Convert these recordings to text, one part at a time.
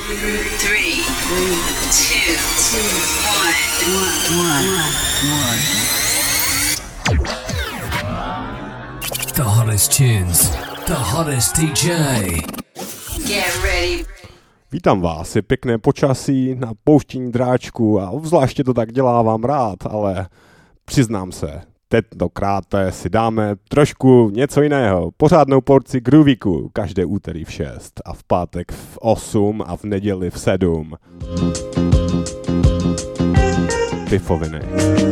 3, 2, 1. The hottest tunes, the hottest DJ. Get ready. Vítám vás, je pěkné počasí na pouštění dráčku a obzvláště to tak dělávám rád, ale přiznám se, tentokrát si dáme trošku něco jiného. Pořádnou porci groovíku každé úterý v 6 a v pátek v 8 a v neděli v 7. Pifoviny.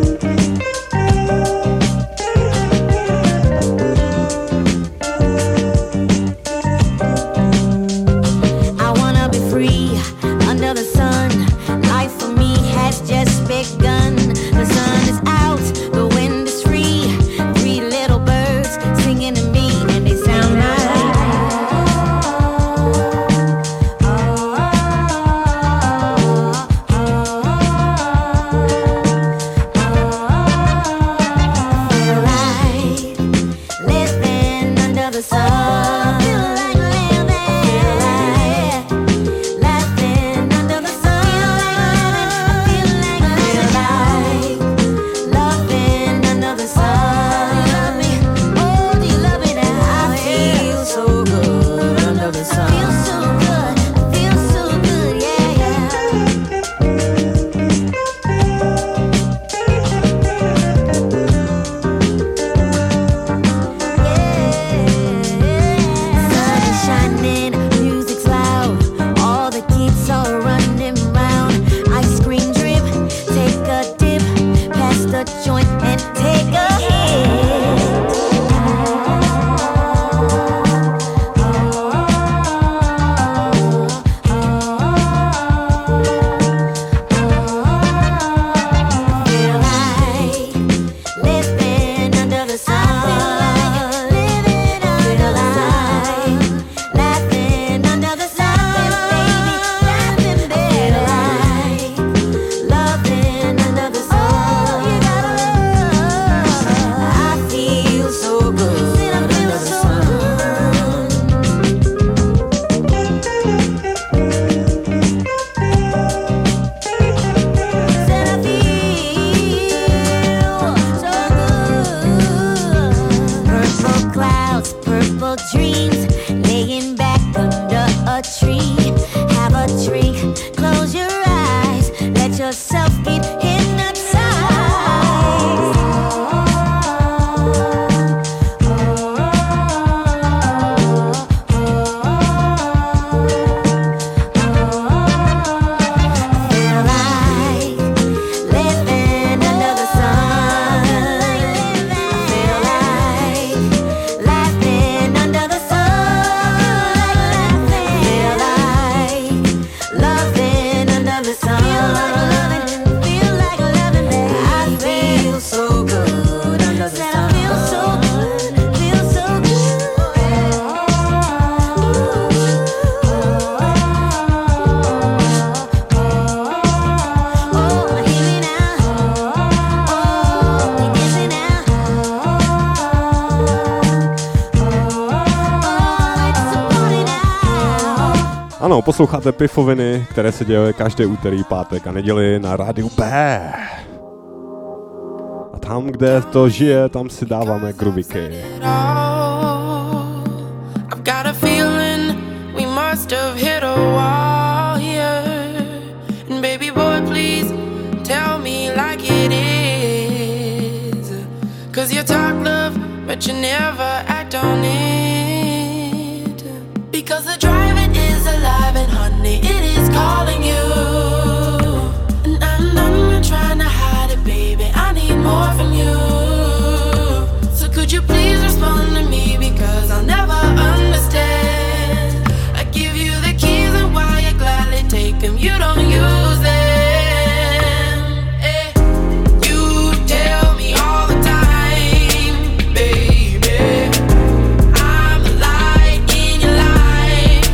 Ano, posloucháte Pifoviny, které se dějí každé úterý, pátek a neděli na rádiu B. A tam, kde to žije, tam si dáváme groovíky. I've got a feeling we must have hit a wall here. And baby boy, please tell me like it is. 'Cause you talk love, but you never act on it. Because the driving is alive and honey, it is calling you. And I'm not trying to hide it, baby, I need more from you. So could you please respond to me, because I'll never understand. I give you the keys and why you gladly take them, you don't use them. You tell me all the time, baby, I'm the light in your life.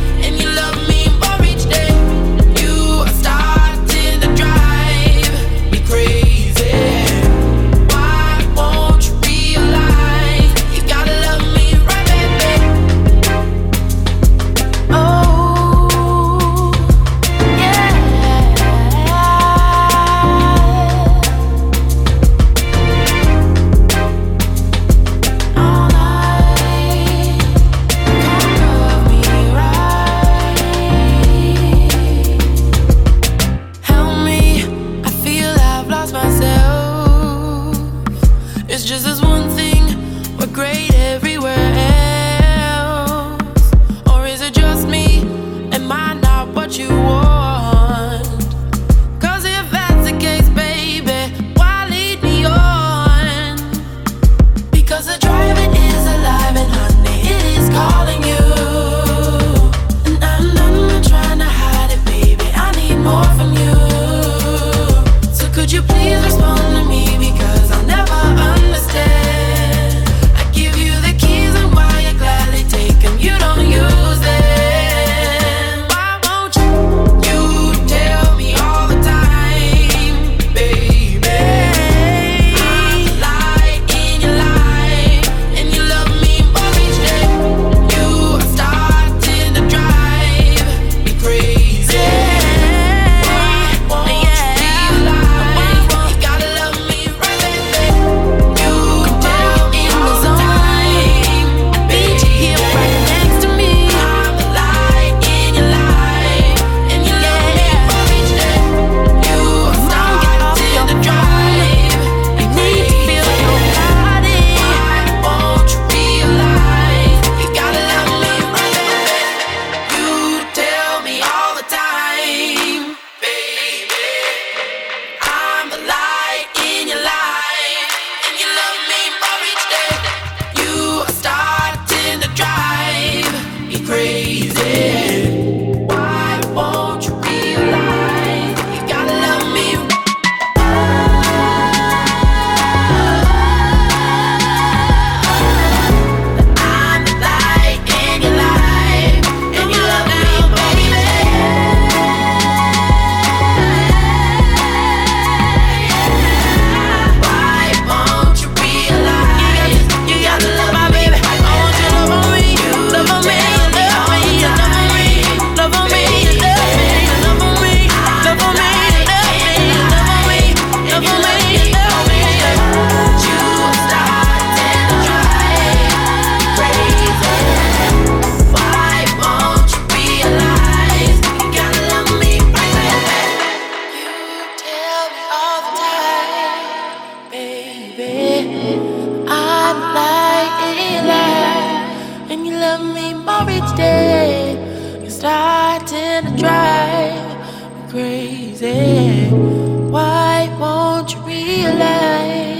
and it drives me crazy. Why won't you realize?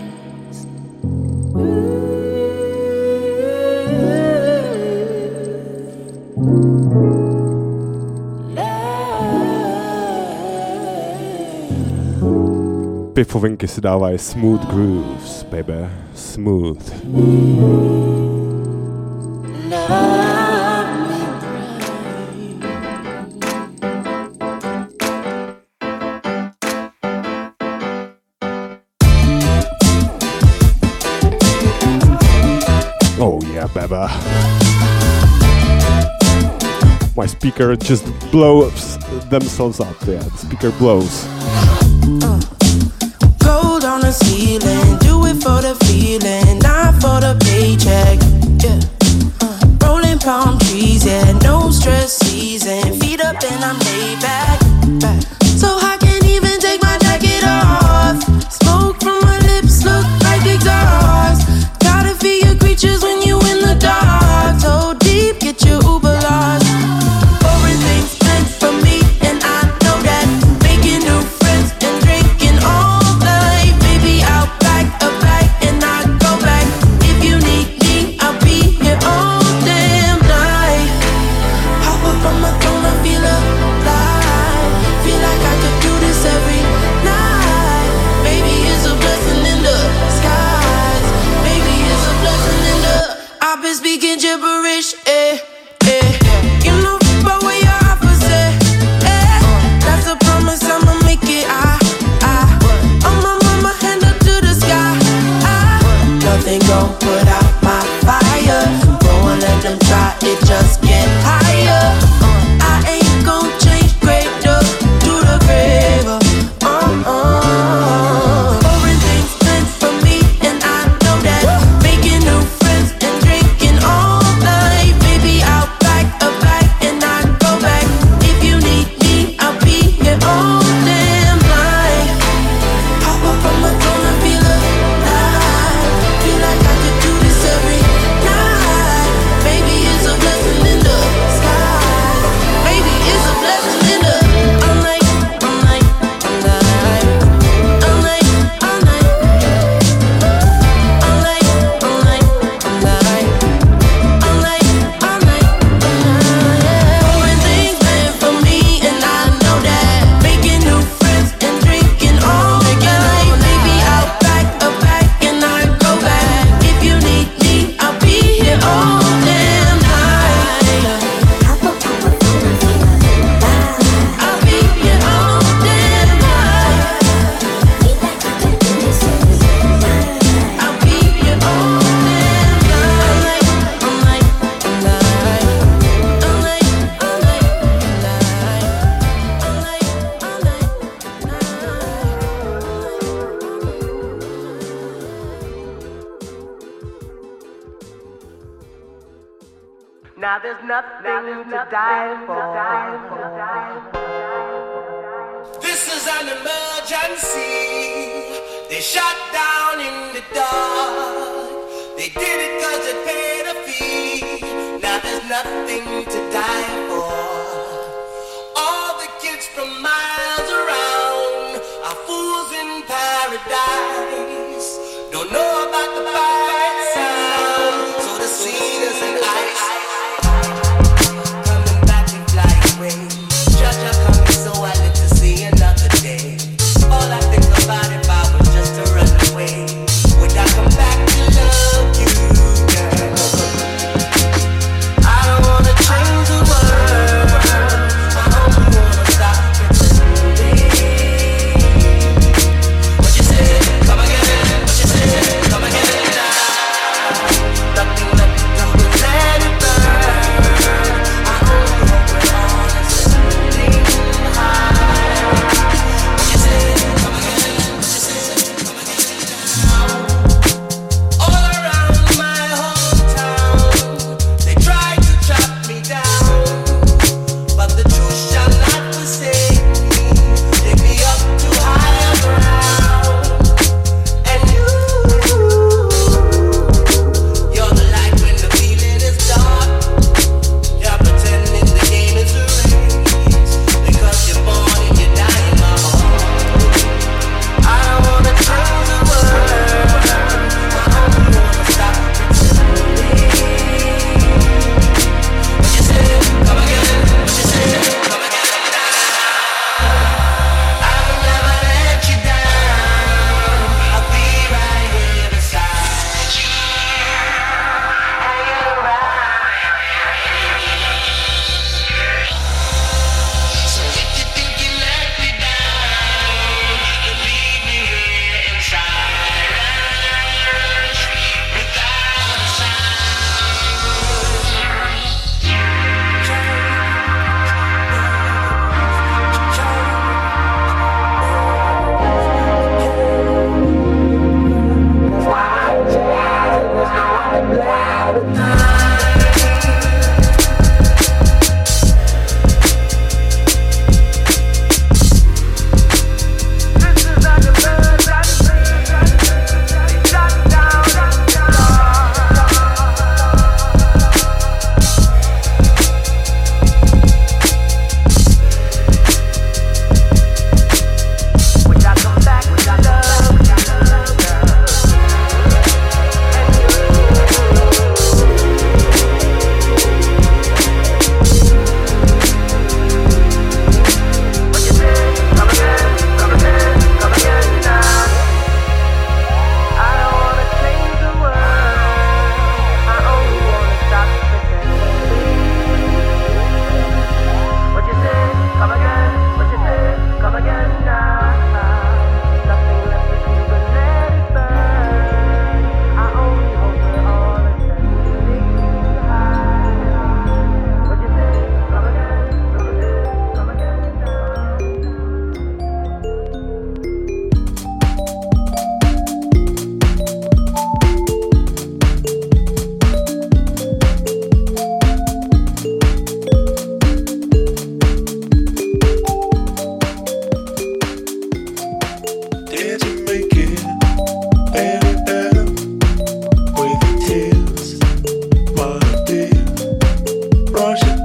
Pifovinky si dávají smooth grooves, baby, smooth. Oh yeah, baby. My speaker just blows themselves up. Yeah, the speaker blows. Gold on the ceiling, do it for the feeling, not for the paycheck. Yeah. Rolling palm trees, yeah, no stress season. Feet up and I'm laid back. So I can't even take my jacket off. Smoke from my lips look like exhaust. Gotta feel your creatures when you in the dark. So deep, get your Uber lost. Boring things meant for me, and I know that. Making new friends and drinking all night. Maybe I'll pack a bag and I'll go back. If you need me, I'll be here all damn night. Hop up on my phone, I feel alive. Feel like I could do this every night. Maybe it's a blessing in the skies. Maybe it's a blessing in the. I've been speaking gibberish, eh, eh. You know about what your opposite, eh. That's a promise, I'ma make it, I'ma move my hand up to the sky, Nothing gon' put out my fire. Go and let them try, it just get higher. I ain't gon' change grade up to the grave. Boring things meant for me, and I know that. Making new friends and drinking all night. Maybe I'll pack a bag and I'll go back. If you need me, I'll be here all damn night. Hop up on my phone, I feel alive. Feel like I could do this every night. Maybe it's a blessing in the skies. Maybe it's a blessing in the. All night, all night, all night. All night, all night. All night, all night, all night. All night, all night, all night. Boring things meant for me, and I know that. Making new friends and drinking all night. Maybe I'll pack a bag and I'll go back. If you need me, I'll be here all damn night. I'll be here all damn night. I'll be here all damn night. All night, all night, all night, all night, all night, all night, Now there's nothing to die for. This is an emergency. They shut down in the dark. They did it 'cause they paid a fee. Now there's nothing to die for. All the kids from miles around are fools in paradise. Don't know about the fire sound. So the cedars and ice coming back and fly away. Just coming, so I live to see another day. All I think about if I was just to run away. Would I come back to love you, girl? I don't wanna change the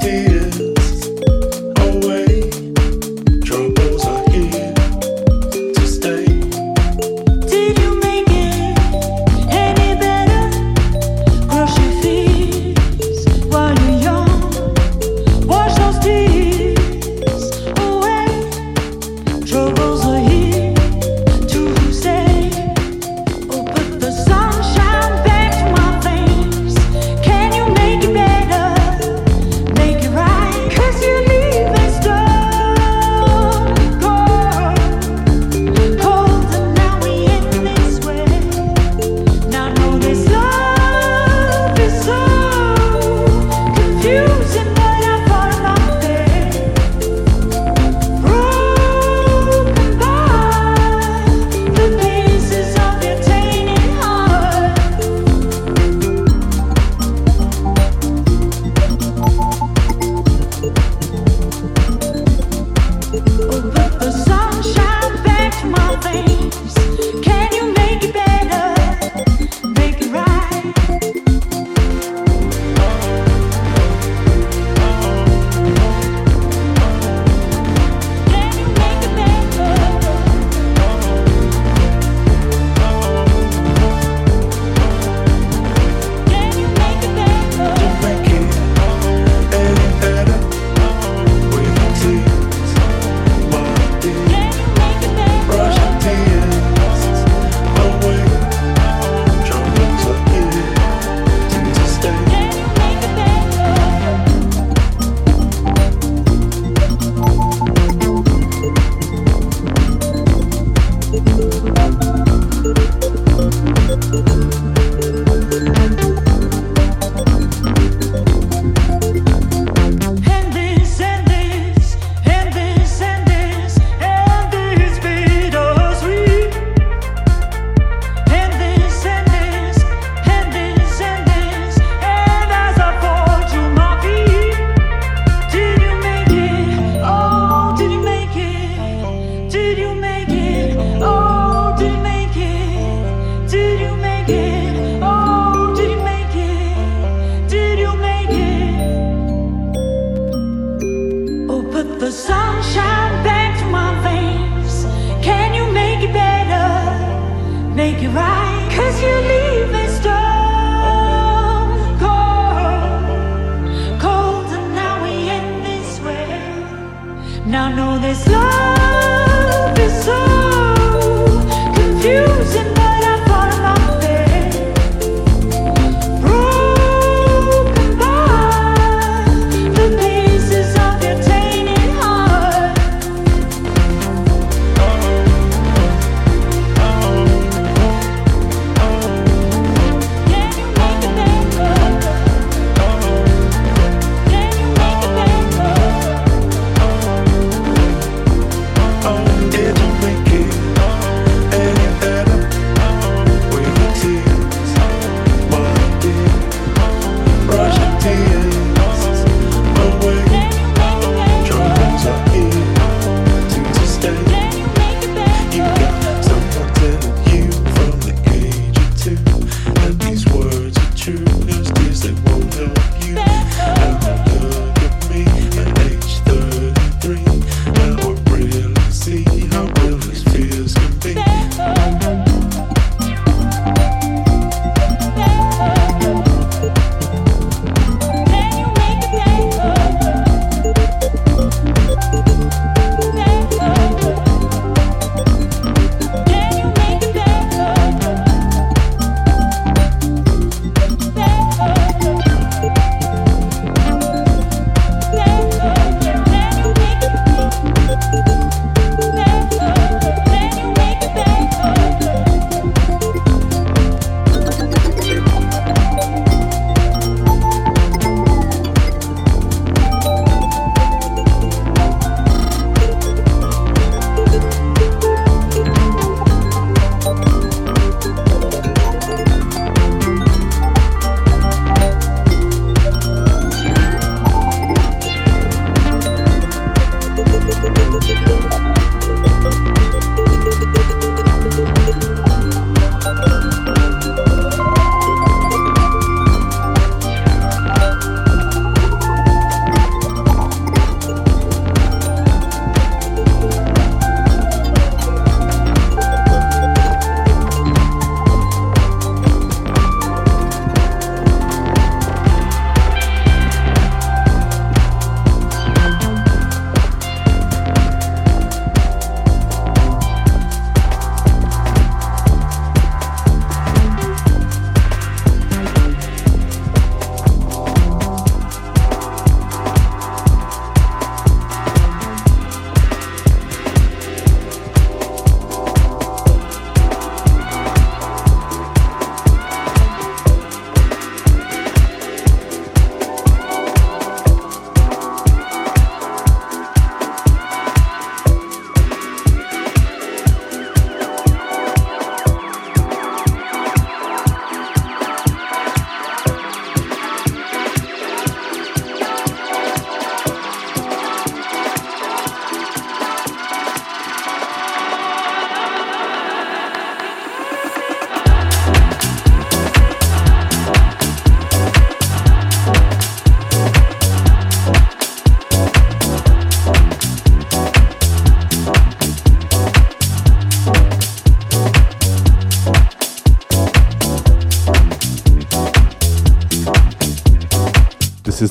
Did you make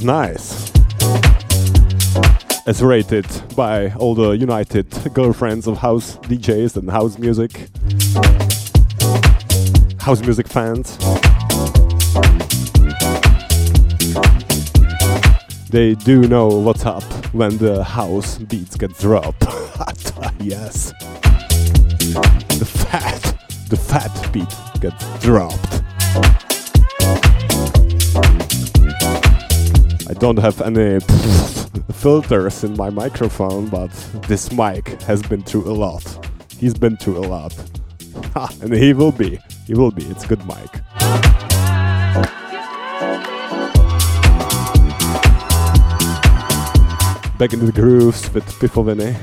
nice. As rated by all the united girlfriends of house DJs and house music fans. They do know what's up when the house beats get dropped. Yes. The fat beat gets dropped. I don't have any filters in my microphone, but this mic has been through a lot. He's been through a lot. And he will be. It's a good mic. Back into the grooves with Pifoviny.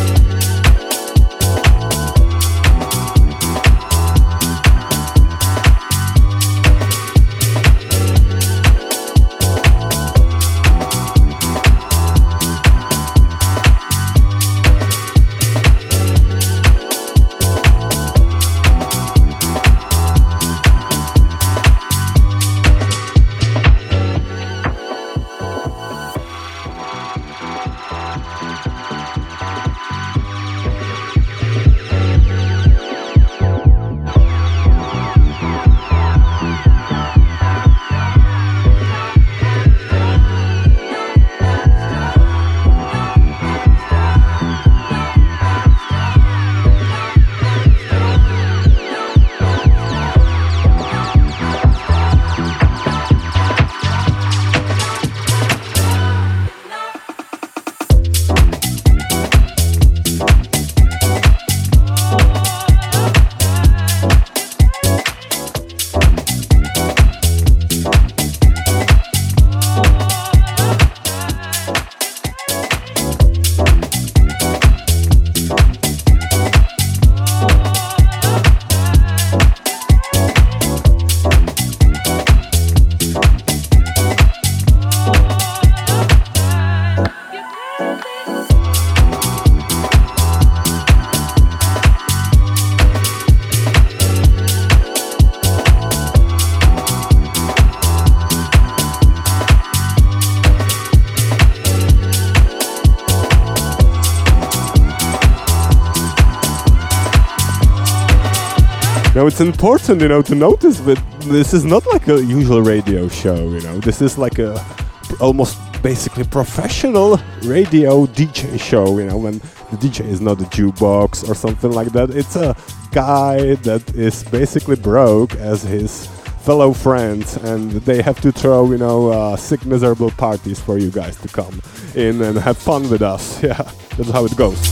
Now it's important, to notice that this is not like a usual radio show, This is like a almost basically professional radio DJ show, when the DJ is not a jukebox or something like that. It's a guy that is basically broke as his fellow friends, and they have to throw, sick, miserable parties for you guys to come in and have fun with us. Yeah, that's how it goes.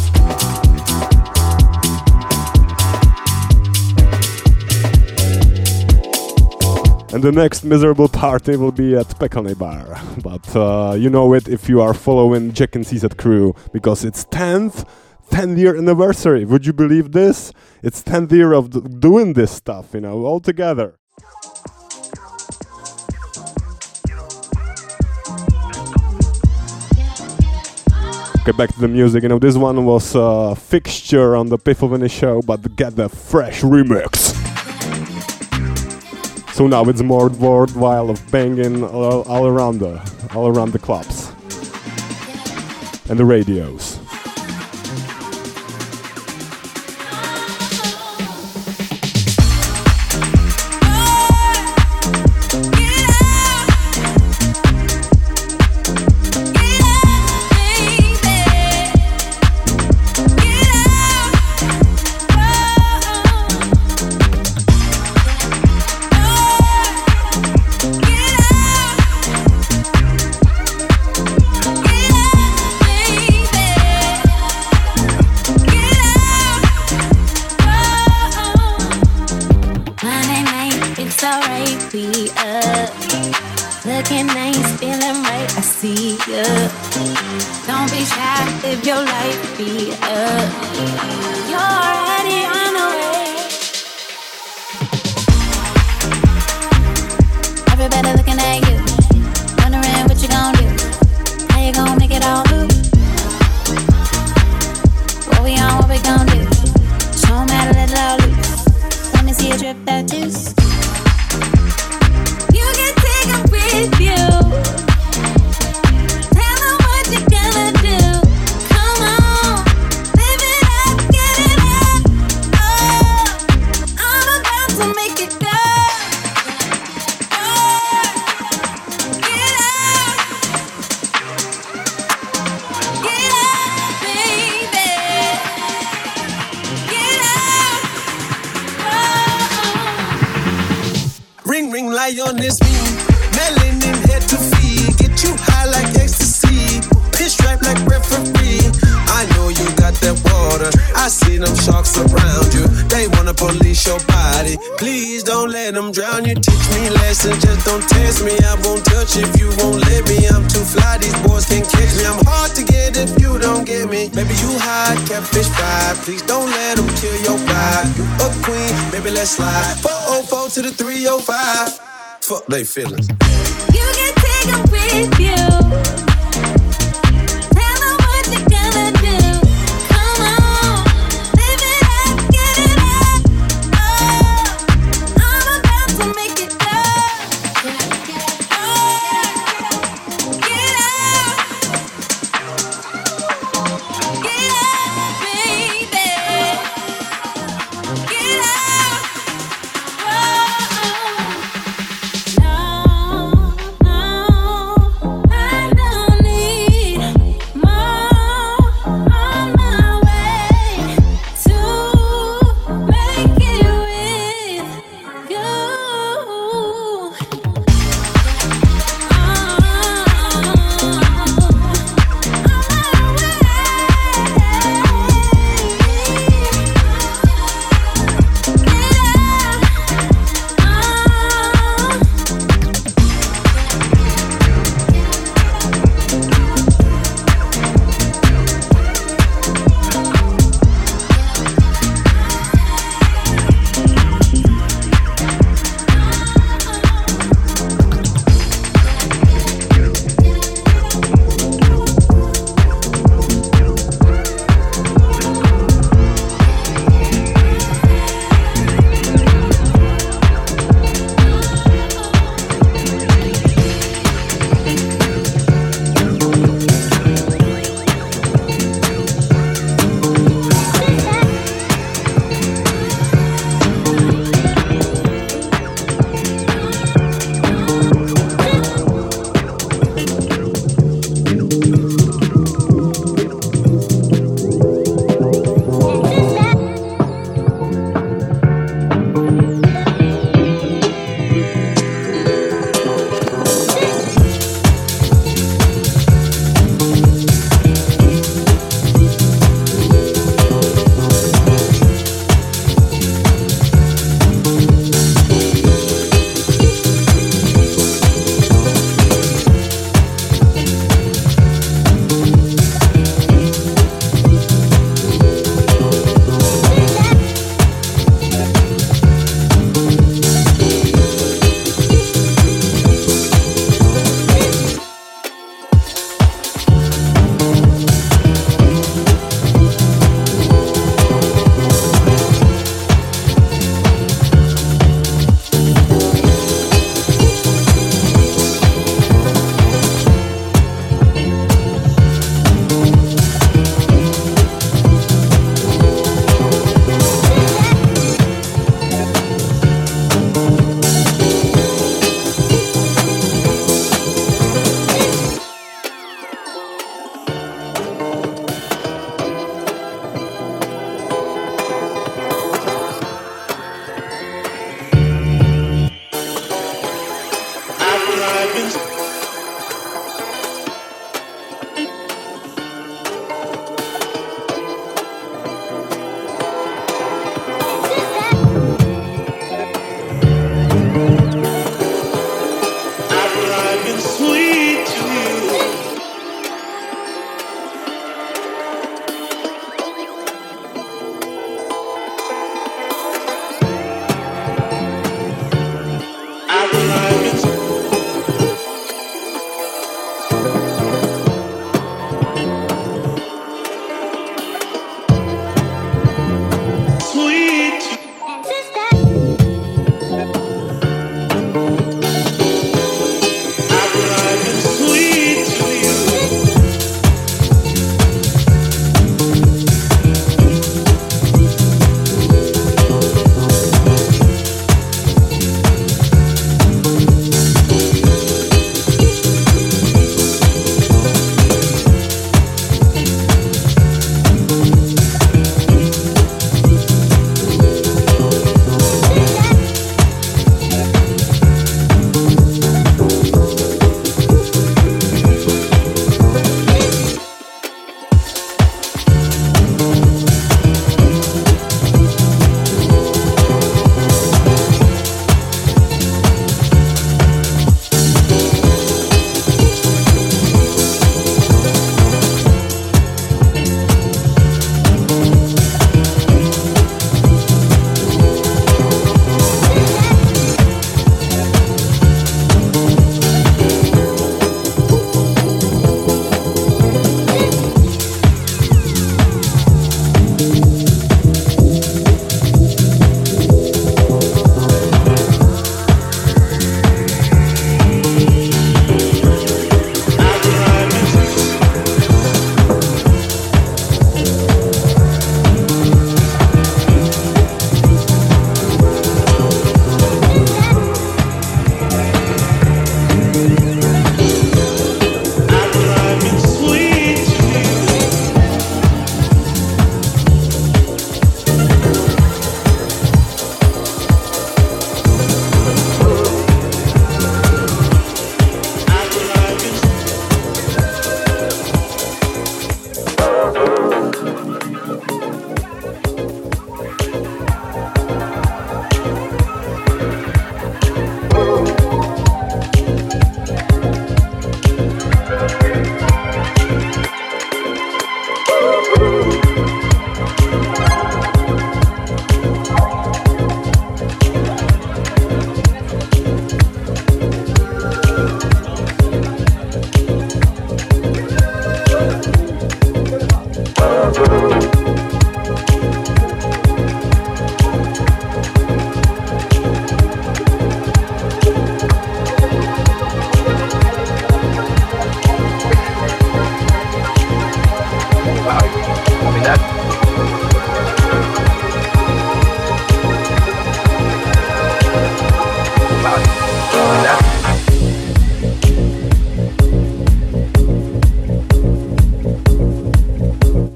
And the next miserable party will be at Pekane Bar. But you know it if you are following Jack and CZ crew, because it's 10th 10-year anniversary. Would you believe this? It's 10th year of doing this stuff, all together. Okay, back to the music. This one was a fixture on the Pifoviny show, but get the fresh remix. So now it's more worthwhile of banging all around the clubs and the radios. Don't be shy, live your life, be up. You're already on the way. Everybody looking at you, wondering what you gonna do. How you gonna make it all move? What we on, what we gonna do? Show 'em how to let it all loose. Let me see you drip that juice. You can take 'em with you. high on this meat. Melanin head to feet. Get you high like ecstasy. Pinstripe like referee. I know you got that water. I see them sharks around you. They wanna police your body. Please don't let them drown you. Teach me lessons, just don't test me. I won't touch if you won't let me. I'm too fly, these boys can't catch me. I'm hard to get if you don't get me. Baby, you hot, catfish fried. Please don't let them kill your vibe. You a queen, baby, let's slide. 404 to the 305. Fuck they feelings. You can take them with you. Tell them what you're gonna do. Come on, live it up, get it up. Oh, I'm about to make it go. Get up, get up, baby. Get up. Whoa. No, I know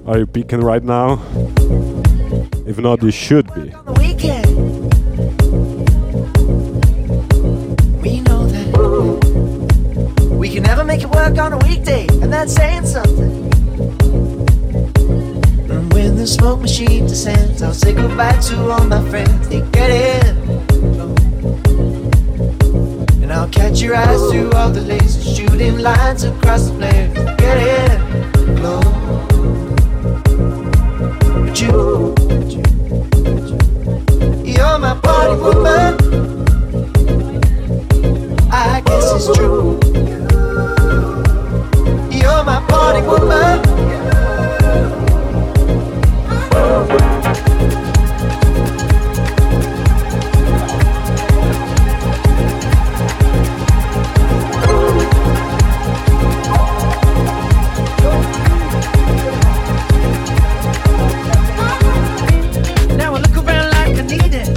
Are you peeking right now? If not, you should be. On the weekend, we know that we can never make it work on a weekday, and that's saying something. And when the smoke machine descends, I'll say goodbye to all my friends. They get in, and I'll catch your eyes through all the lasers, shooting lines across the flares. Get in, glow. But you're my party woman. I guess it's true. You're my party woman. Now I look around like I need it,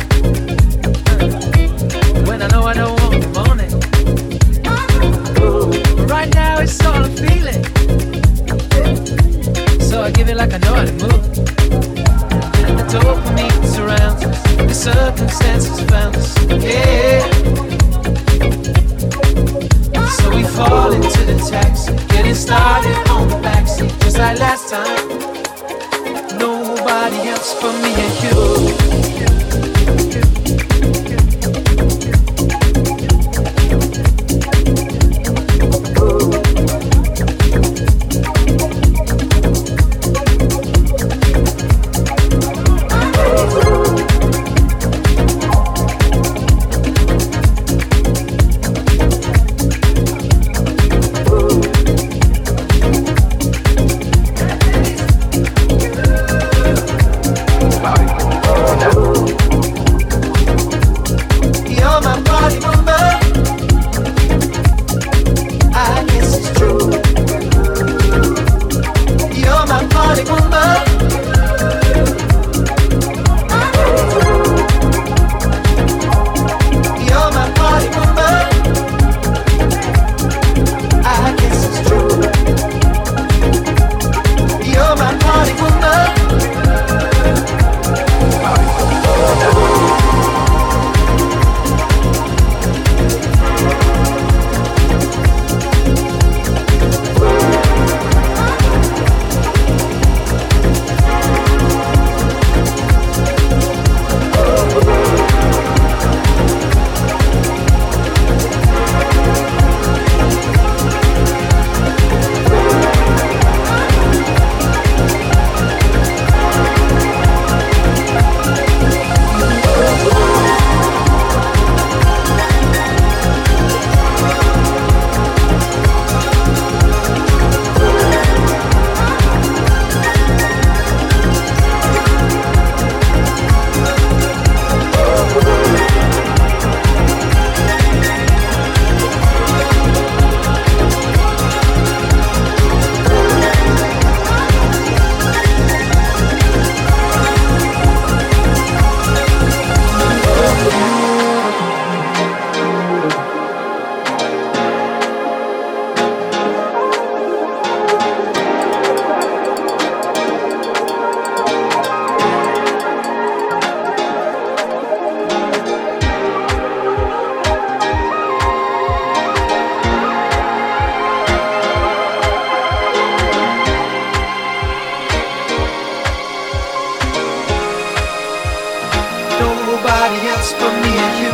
when I know I don't want the morning. But right now it's all I'm feeling, so I give it like I know how to move. And the dopamine surrounds us, the circumstances found us, yeah. So we fall into the taxi, getting started on the backseat, just like last time. Nobody else but me and you. You're my party woman. I guess it's true. You're my party woman. You're my party woman. I guess it's true. You're my party woman. Nobody else but me and you.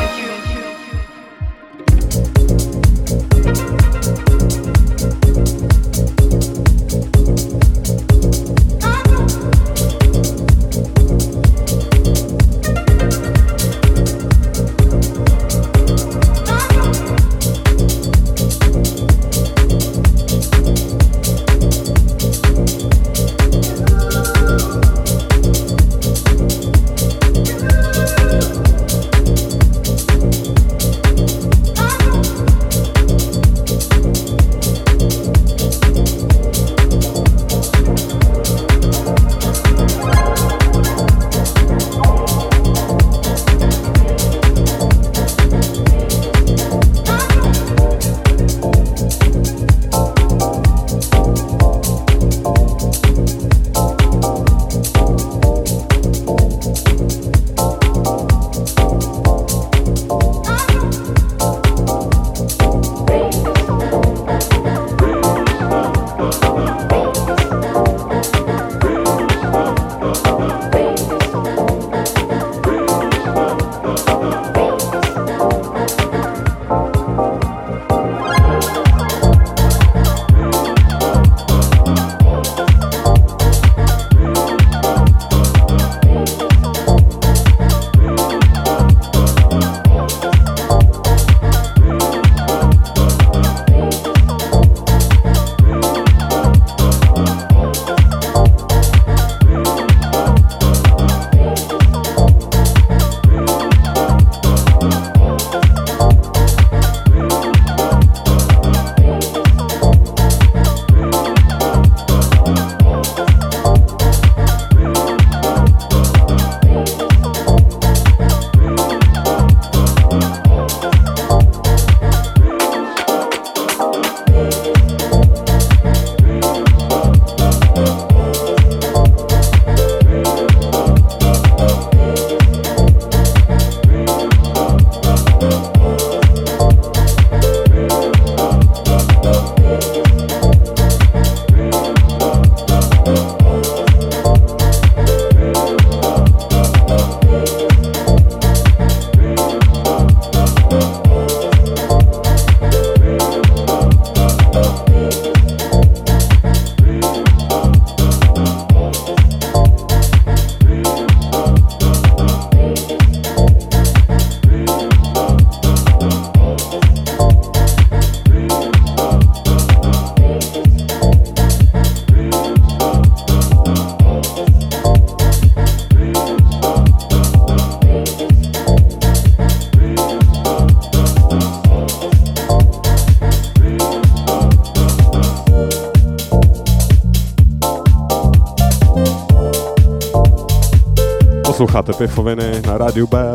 Posloucháte Pifoviny na rádiu B.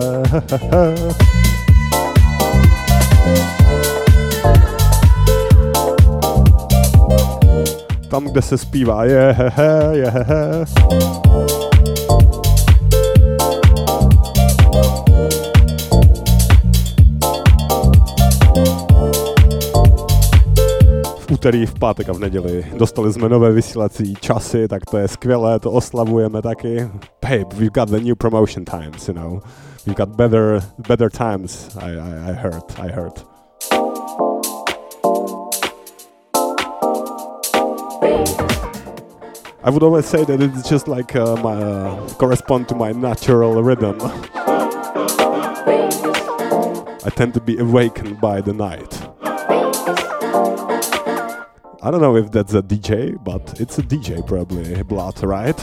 Tam, kde se zpívá je. V úterý, v pátek a v neděli dostali jsme nové vysílací časy, tak to je skvělé, to oslavujeme taky. Hey, we've got the new promotion times, you know. We've got better times, I heard. I would always say that it's just like correspond to my natural rhythm. I tend to be awakened by the night. I don't know if that's a DJ, but it's a DJ probably, Blood, right?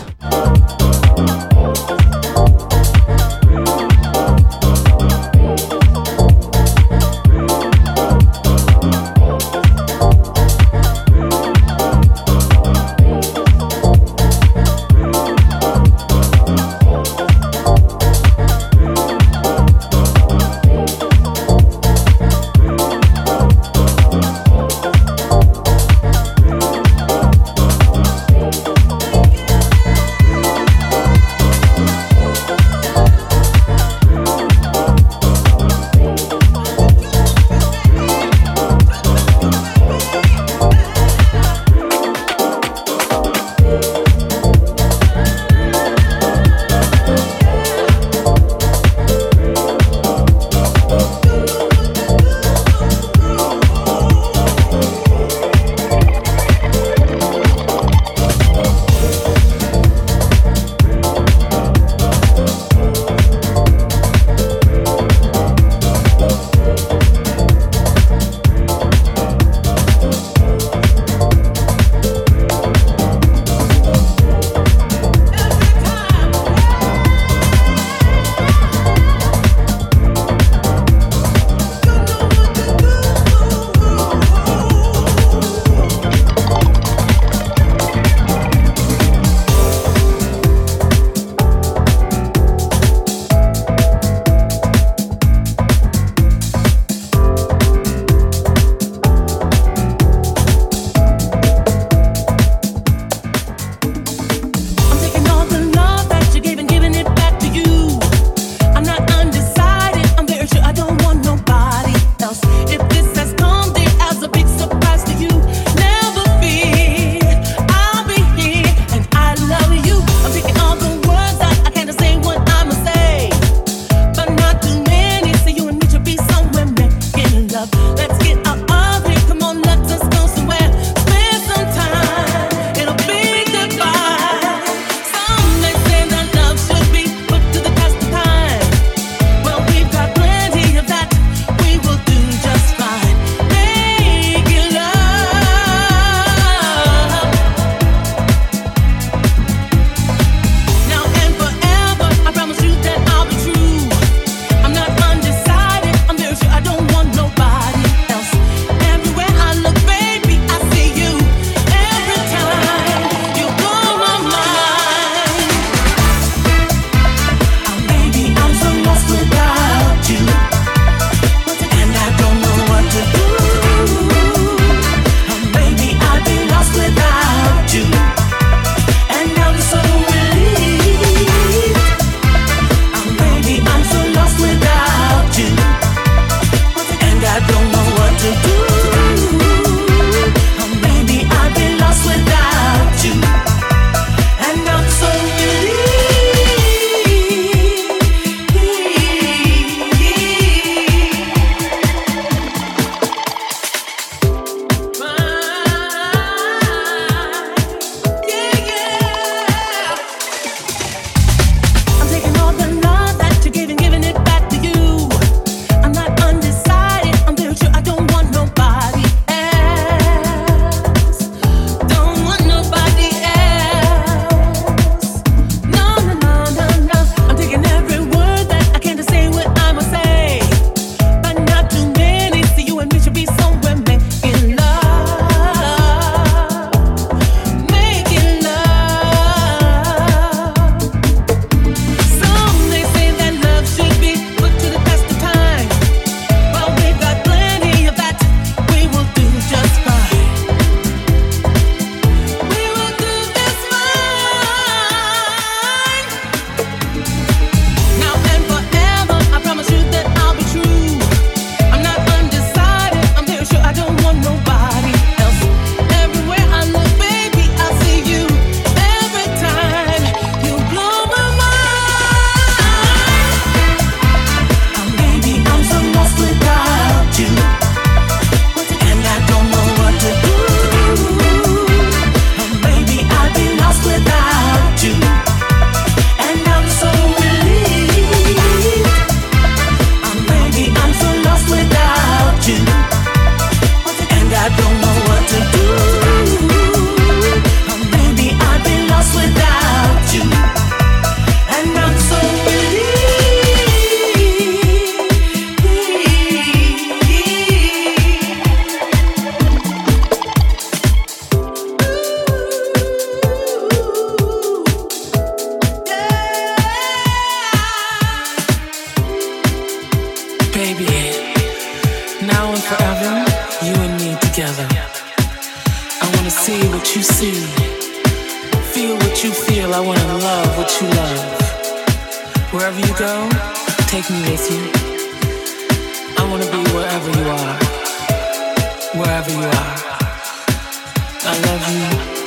what you feel, I wanna love what you love. Wherever you go, take me with you. I wanna be wherever you are. Wherever you are. I love you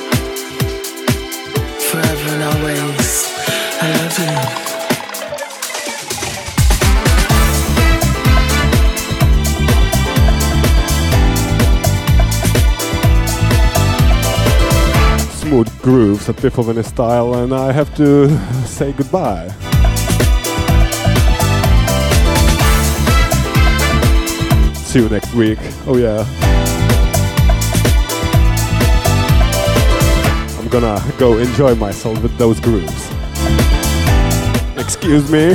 forever and always. I love you. Smooth grooves at Biffle style, and I have to say goodbye. See you next week. Oh yeah. I'm gonna go enjoy myself with those grooves. Excuse me.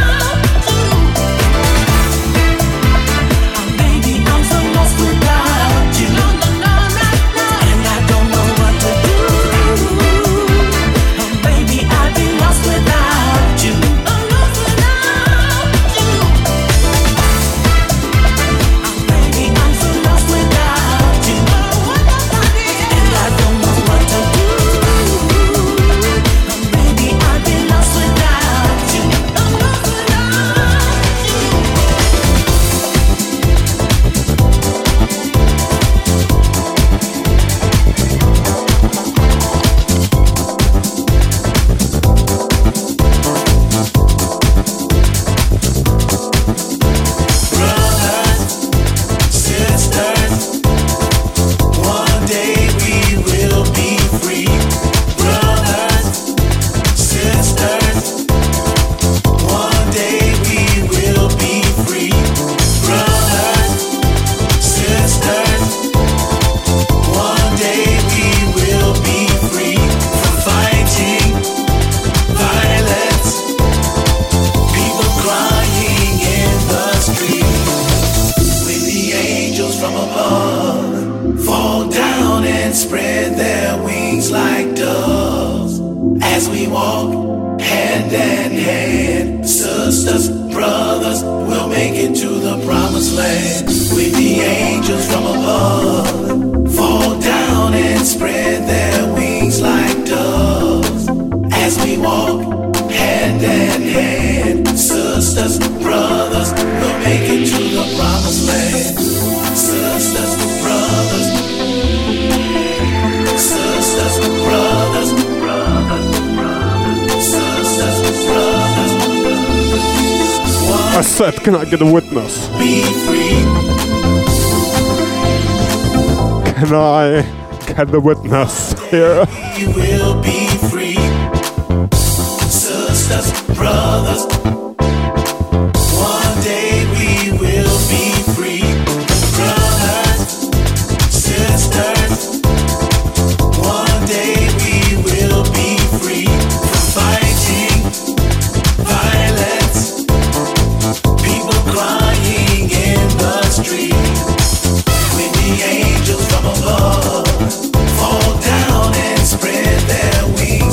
I said, can I get a witness? Be free. Can I get a witness here? We will be free. Sisters, brothers. One day we will be free. Brothers, sisters. One day we will be free. From fighting violence. People crying in the street. When the angels from above fall down and spread their wings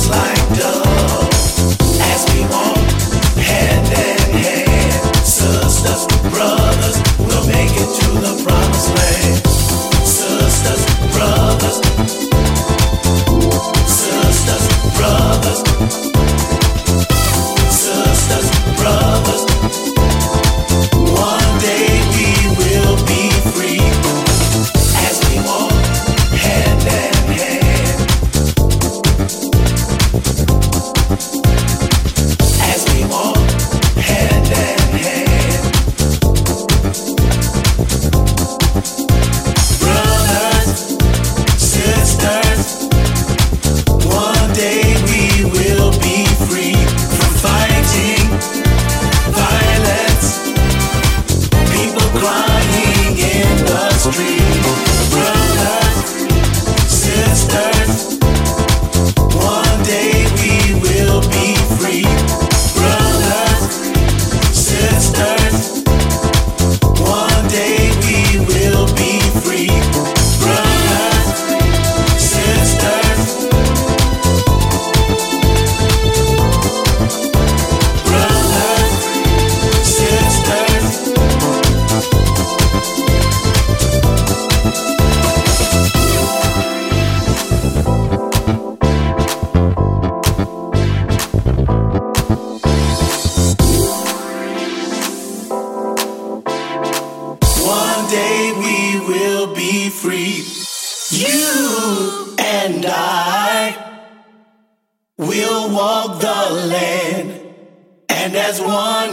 We'll walk the land, and as one,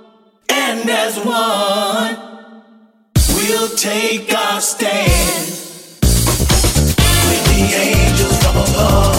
we'll take our stand with the angels from above.